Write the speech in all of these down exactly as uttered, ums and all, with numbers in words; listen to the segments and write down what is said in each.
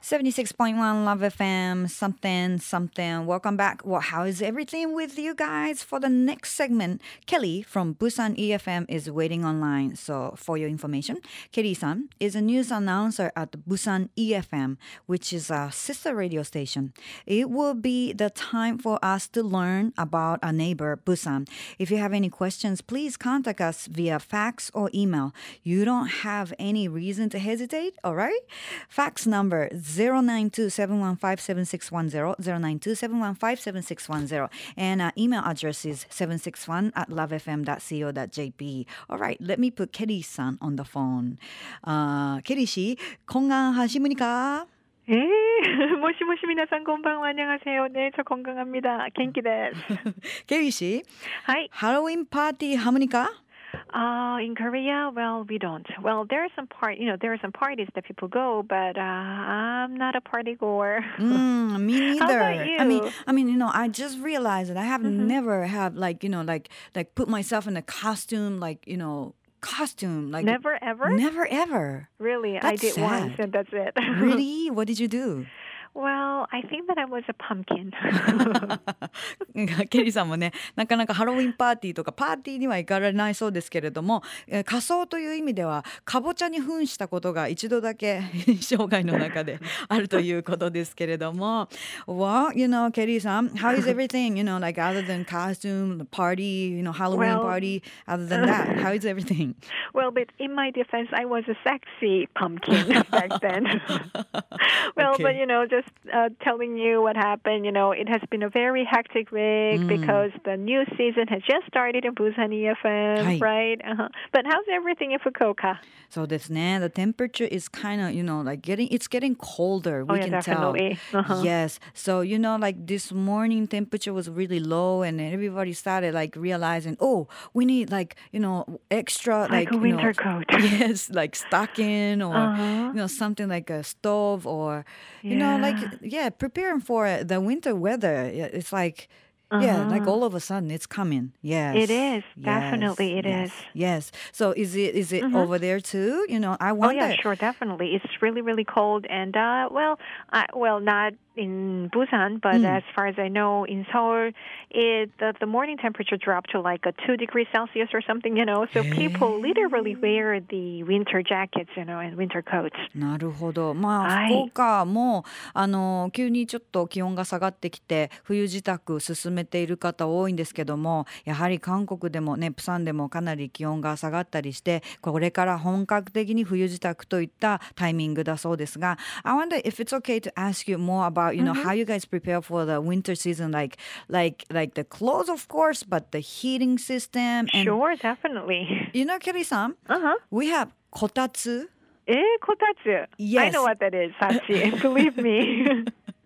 seventy-six point one Love F M, something, something. Welcome back. Well, how is everything with you guys? For the next segment, Kelly from Busan E F M is waiting online. So, for your information, Kelly-san is a news announcer at Busan E F M, which is a sister radio station. It will be the time for us to learn about our neighbor, Busan. If you have any questions, please contact us via fax or email. You don't have any reason to hesitate, all right? Fax number zero nine two, seven one five, seven six one zero, zero nine two, seven one five, seven six one zero. And our email address is seven six one at lovefm dot co dot jp. All right, let me put Kelly-san on the phone. Uh, Kelly 씨, 건강하십니까? 예, 모시모시 미나상 건방 안녕하세요. 네, 저 건강합니다. genkiです. Kelly 씨, Hi. 할로윈 파티 합니까? Uh, in Korea, well, we don't. Well, there are some part, you know, there are some parties that people go, but uh, I'm not a party goer. Mm, me neither. How about you? I mean, I mean, you know, I just realized that I have Mm-hmm. never have like, you know, like like put myself in a costume, like, you know, costume, like Never ever? never ever. Really, I That's did once, sad. and that's it. Really? What did you do? Well, I think that I was a pumpkin. ケリーさんもね、なかなかハロウィンパーティーとかパーティーには行かれないそうですけれども、えー仮装という意味ではかぼちゃに扮したことが一度だけ生涯の中であるということですけれども Well, you know, ケリーさん How is everything? You know, like other than costume, the party, you know, Halloween Well- party, other than that, how is everything? Well, but in my defense, I was a sexy pumpkin back then. Well, Okay. but you know, just uh, telling you what happened, you know, it has been a very hectic week Mm. because the new season has just started in Busan E F M, Hi. right? Uh-huh. But how's everything in Fukuoka? そうですね The temperature is kind of, you know, like getting, it's getting colder. We Oh, yeah, can tell. definitely. Uh-huh. Yes. So, you know, like this morning temperature was really low and everybody started like realizing, oh, we need like, you know, extra Like like, a you winter know, coat. yes, like stocking or, Uh-huh. you know, something like a stove or, you know, like, Yeah. yeah, preparing for the winter weather. Yeah, It's like, yeah, like Uh-huh. all of a sudden it's coming. Yes. It is. Yes, Definitely it yes, is. Yes. So is it is it Mhm. over there too? You know, I Oh wonder. yeah, sure, definitely. It's really, really cold, and uh, well, I, well, not in Busan, but Mm. as far as I know, in Seoul, it the, the morning temperature dropped to like a two degrees Celsius or something, you know. So people literally wear the winter jackets, you know, and winter coats. なるほど。まあ、 はい福岡もあの急にちょっと気温が下がってきて冬支度進めている方多いんですけども、やはり韓国でもね、プサンでもかなり気温が下がったりして、これから本格的に冬支度といったタイミングだそうですが、I wonder if it's okay to ask you more about, you know, how you guys prepare for the winter season, like like like the clothes, of course, but the heating system and Sure, definitely. you know, Kelly-san, Uh huh. we have kotatsu. Eh, kotatsu. I Yes. know what that is, Sachi. Believe me.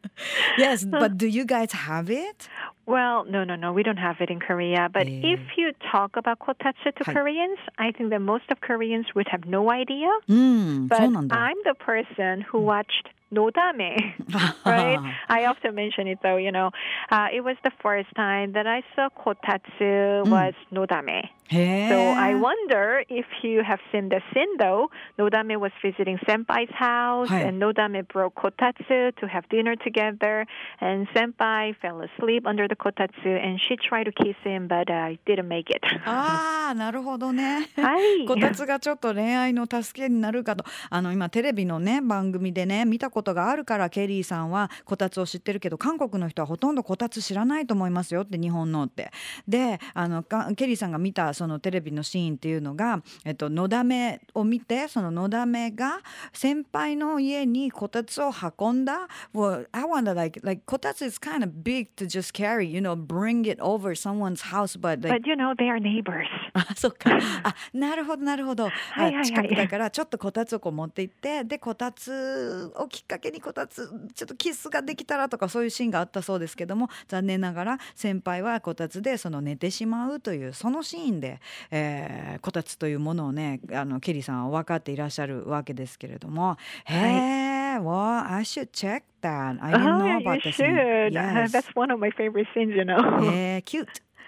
Yes, but do you guys have it? Well, no, no, no. We don't have it in Korea. But 예. if you talk about kotatsu to Hi. Koreans, I think that most of Koreans would have no idea. うん、 But そうなんだ。 I'm the person who watched Nodame, right? I often mention it though, you know. Uh, it was the first time that I saw kotatsu was Nodame. へえ。 So I wonder if you have seen the scene though. Nodame was visiting Senpai's house Hi. and Nodame brought kotatsu to have dinner together. And Senpai fell asleep under the kotatsu and she tried to kiss him but uh, didn't make it. ああ、なるほどね。 はい。 こたつがちょっと恋愛の助けになるかと。あの今テレビのね番組でね見たことがあるからケリーさんはこたつを知ってるけど韓国の人はほとんどこたつ知らないと思いますよって日本のって。で、あのかケリーさんが見たそのテレビのシーンっていうのが、えっとのだめを見てそののだめが先輩の家にこたつを運んだ。Well, I wonder like like こたつ is kind of big to just carry, you know, bring it over someone's house, but like But you know, they are neighbors. あ、そっか。あ、なるほどなるほど。 はいはいはいあ近くだからちょっとこたつをこう持って行ってでこたつをきっかけにこたつちょっとキスができたらとかそういうシーンがあったそうですけども残念ながら先輩はこたつでその寝てしまうというそのシーンで、えーこたつというものをねあのケリーさんは分かっていらっしゃるわけですけれども、へえ、well, I should check that. I didn't Oh, know yeah, about you the scene. should. Uh, Yes. that's one of my favorite scenes, you know. えー、cute.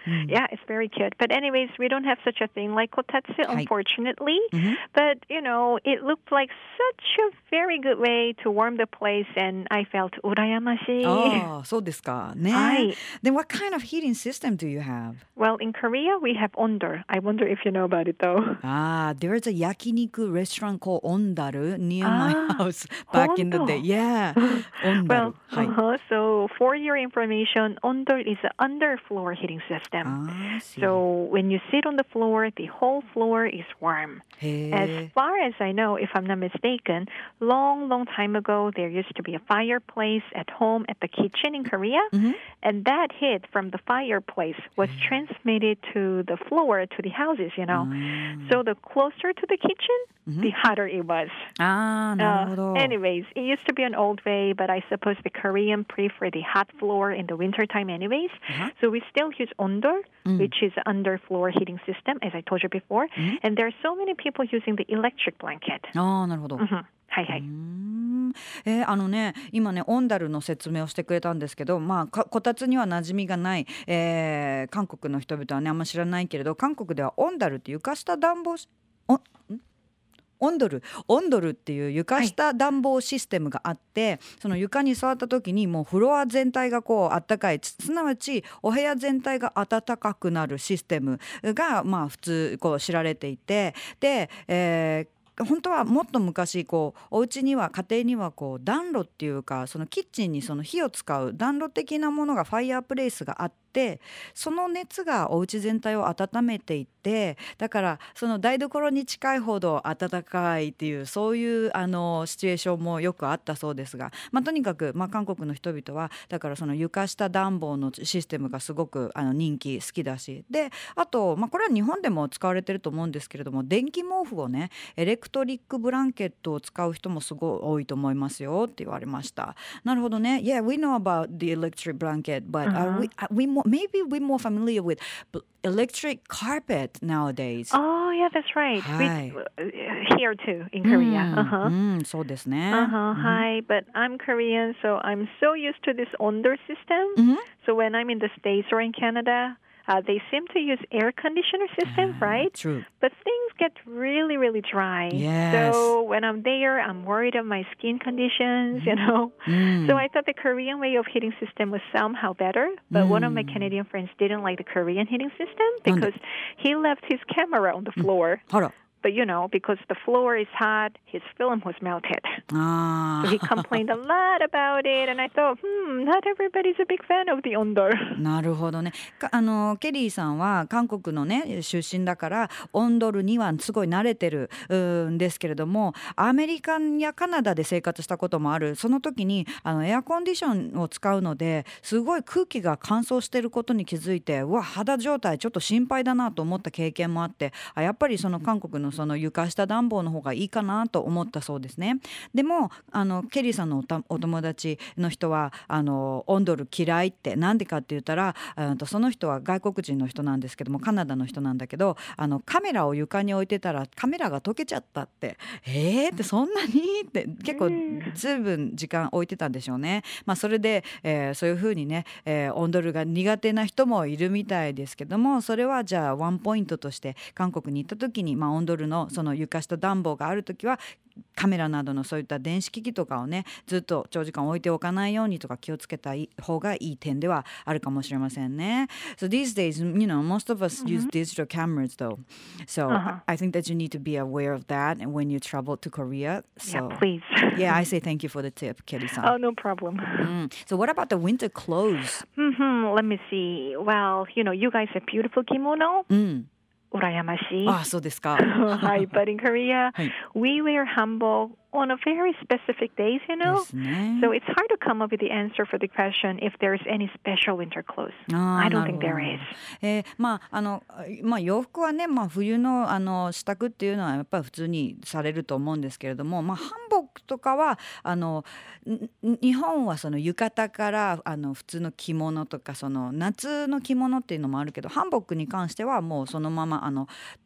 Yeah, it's very cute. But anyways, we don't have such a thing like kotatsu, unfortunately. Mm-hmm. But, you know, it looked like such a very good way to warm the place, and I felt urayamashi. Oh, そうですかね。 はい。 Then what kind of heating system do you have? Well, in Korea, we have ondol. I wonder if you know about it, though. Ah, there's a yakiniku restaurant called Ondaru near my house back in the day. Yeah, Ondaru. Well, はい。 uh-huh. So for your information, ondol is an underfloor heating system. Ah, I see. So when you sit on the floor, the whole floor is warm. へ As ー far as I know, if I'm not mistaken, long, long time ago, there used to be a fireplace at home at the kitchen in Korea. Mhm. And that heat from the fireplace was transmitted to the floor, to the houses, you know. So the closer to the kitchen, the hotter it was. ああ、なるほど。 Uh, anyways, it used to be an old way, but I suppose the Korean prefer the hot floor in the wintertime anyways. Uh-huh. So we still use ondol, which is underfloor heating system, as I told you before. And there are so many people using the electric blanket. ああ、なるほど。 Mhm. はいはい。 うーんえーあのね今ねオンダルの説明をしてくれたんですけど、まあ、かこたつには馴染みがない、えー韓国の人々はねあんま知らないけれど、韓国ではオンダルって床下暖房しおんオンドルオンドルっていう床下暖房システムがあって、はい、その床に座った時にもうフロア全体がこうあったかい、すなわちお部屋全体が暖かくなるシステムがまあ普通こう知られていて、で、えー本当はもっと昔こうお家には家庭にはこう暖炉っていうか、そのキッチンにその火を使う暖炉的なものがファイヤープレイスがあって、その熱がお家全体を温めていて、だからその台所に近いほど暖かいっていうそういうあのシチュエーションもよくあったそうですが、まあ、とにかく、まあ、韓国の人々はだからその床下暖房のシステムがすごくあの人気好きだし、であと、まあ、これは日本でも使われてると思うんですけれども、電気毛布をねエレクトリックブランケットを使う人もすごい多いと思いますよって言われました。なるほどね。 Yeah, we know about the electric blanket, but、uh-huh. are we, are we more, maybe we're more familiar with electric carpet nowadays. Oh, yeah, that's right. はい。 We, uh, here too, in Korea. うん、 Uh-huh. うん、そうですね。 Uh-huh. Hi, but I'm Korean, so I'm so used to this ondol system. Mhm. So when I'm in the States or in Canada, uh, they seem to use air conditioner system, Ah, right? true. But things get really, really dry. Yes. So when I'm there, I'm worried of my skin conditions, you know. Mm. So I thought the Korean way of heating system was somehow better. But one of my Canadian friends didn't like the Korean heating system because he left his camera on the floor. あら。 But, you know, because the floor is hot, his film was melted. あ So he complained a lot about it, and I thought, hmm, not everybody's a big fan of the ondol. なるほどね。かあのケリーさんは韓国のね出身だからオンドルにはすごい慣れてるんですけれども、アメリカやカナダで生活したこともある。その時にあのエアコンディションを使うのですごい空気が乾燥してることに気づいて、うわ肌状態ちょっと心配だなと思った経験もあって、あやっぱりその韓国のその床下暖房の方がいいかなと思ったそうですね。でもあのケリーさんの お, たお友達の人はあのオンドル嫌いって、なんでかって言ったら、あとその人は外国人の人なんですけども、カナダの人なんだけど、あのカメラを床に置いてたらカメラが溶けちゃったって、えーってそんなにって結構ずいぶん時間置いてたんでしょうね。まあ、それで、えー、そういう風にね、えー、オンドルが苦手な人もいるみたいですけども、それはじゃあワンポイントとして韓国に行った時に、まあ、オンドルのその床下暖房がある時はカメラなどのそういった電子機器とかをねずっと長時間置いておかないようにとか気をつけた方がいい点ではあるかもしれませんね。So these days, you know, most of us、mm-hmm. use digital cameras though. So、uh-huh. I think that you need to be aware of that and when you travel to Korea. So, yeah, please. Yeah, I say thank you for the tip, Kelly-san. Oh, no problem. Mm. So what about the winter clothes? Mm-hmm. Let me see. Well, you know, you guys have beautiful kimono. Mm. Urayamashi. あ、そうですか。 はい、but in Korea, はい。 we wear hanbok on a very specific days, you know? ですね。 So it's hard to come up with the answer for the question if there's any special winter clothes. あ I ー don't なる think ほど there is. えーまああのまあ、洋服はね、まあ、冬の、あの支度っていうのはやっぱり普通にされると思うんですけれども、まあ、ハンボックとかはあの日本はその浴衣からあの普通の着物とかその夏の着物っていうのもあるけど、ハンボックに関してはもうそのままあの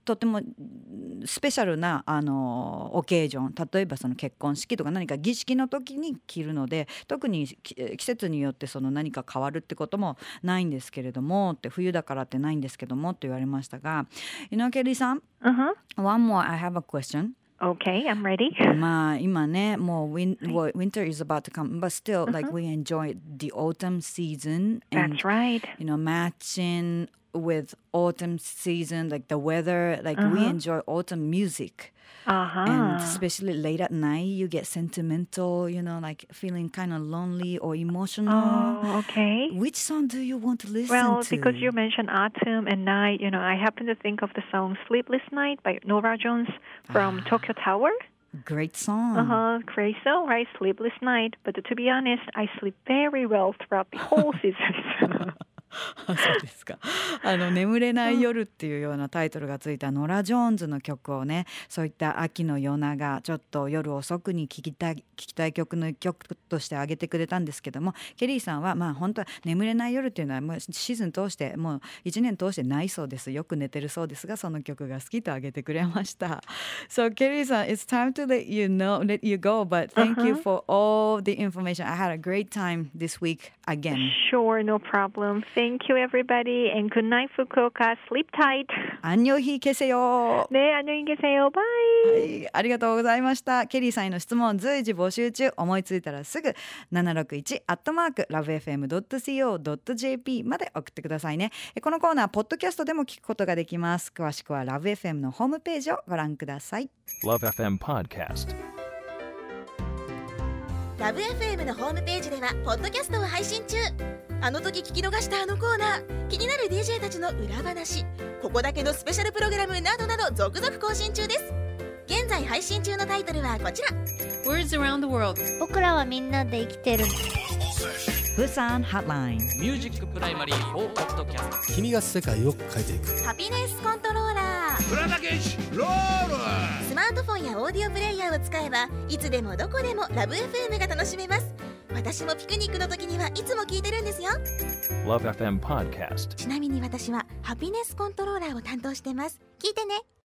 とてもスペシャルなあのオケージョン、例えばその結婚式とか何か儀式の時に着るので、特に季節によってその何か変わるってこともないんですけれどもって、冬だからってないんですけどもって言われましたが、井上ケリーさん、 Uh-huh. One more, I have a question.Okay, I'm ready. まあ今ね、もう win, winter is about to come, but still, uh-huh. like we enjoy the autumn season. And, That's right. You know, matching with autumn season, like the weather, like uh-huh. we enjoy autumn music. Uh-huh. And especially late at night, you get sentimental, you know, like feeling kind of lonely or emotional. Oh, okay. Which song do you want to listen well, to? Well, because you mentioned autumn and night, you know, I happen to think of the song Sleepless Night by Nora Jones from Tokyo Tower. Great song. Uh-huh, great song, right? Sleepless Night. But to be honest, I sleep very well throughout the whole season. そうですか。あの眠れない夜っていうようなタイトルがついたノラ・ジョーンズの曲をね、そういった秋の夜長、ちょっと夜遅くに聴きたい聴きたい曲の曲として挙げてくれたんですけども、ケリーさんはまあ本当は眠れない夜っていうのはもうシーズン通してもう一年通してないそうです。よく寝てるそうですが、その曲が好きと挙げてくれました。So ケリーさん、it's time to let you know, let you go, but thank uh-huh. you for all the information. I had a great time this week again. Sure, no problem. Thank you, everybody, and good night, Fukuoka. Sleep tight. 안녕히 계세요. 네, 안녕히 계세요. Bye. はい、ありがとうございました。ケリーさんへの質問随時募集中。思いついたらすぐななろくいちアットマークラブエフエムドットシーオードットジェーピー まで送ってくださいね。このコーナーポッドキャストでも聞くことができます。詳しくはラブエフエムのホームページをご覧ください。 ラブエフエム Podcast。 ラブ エフエム のホームページではポッドキャストを配信中。あの時聞き逃したあのコーナー、気になる ディージェー たちの裏話、ここだけのスペシャルプログラムなどなど続々更新中です。現在配信中のタイトルはこちら。 Words around the world。 僕らはみんなで生きてる。 ブサンハッライン。 ミュージックプライマリーフォーポッドキャスト。 君が世界を変えていく。 ハピネスコントローラー。 プラダケシロール。 スマートフォンやオーディオプレイヤーを使えばいつでもどこでもラブ エフエム が楽しめます。私もピクニックの時にはいつも聞いてるんですよ。 ラブエフエム Podcast。 ちなみに私はハピネスコントローラーを担当してます。聞いてね。